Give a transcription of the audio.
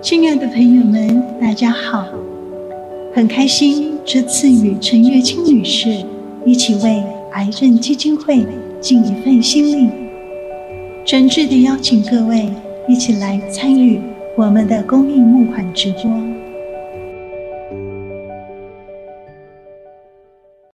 亲爱的朋友们，大家好，很开心这次与陈月清女士一起为癌症基金会尽一份心力，诚挚地邀请各位一起来参与我们的公益募款直播。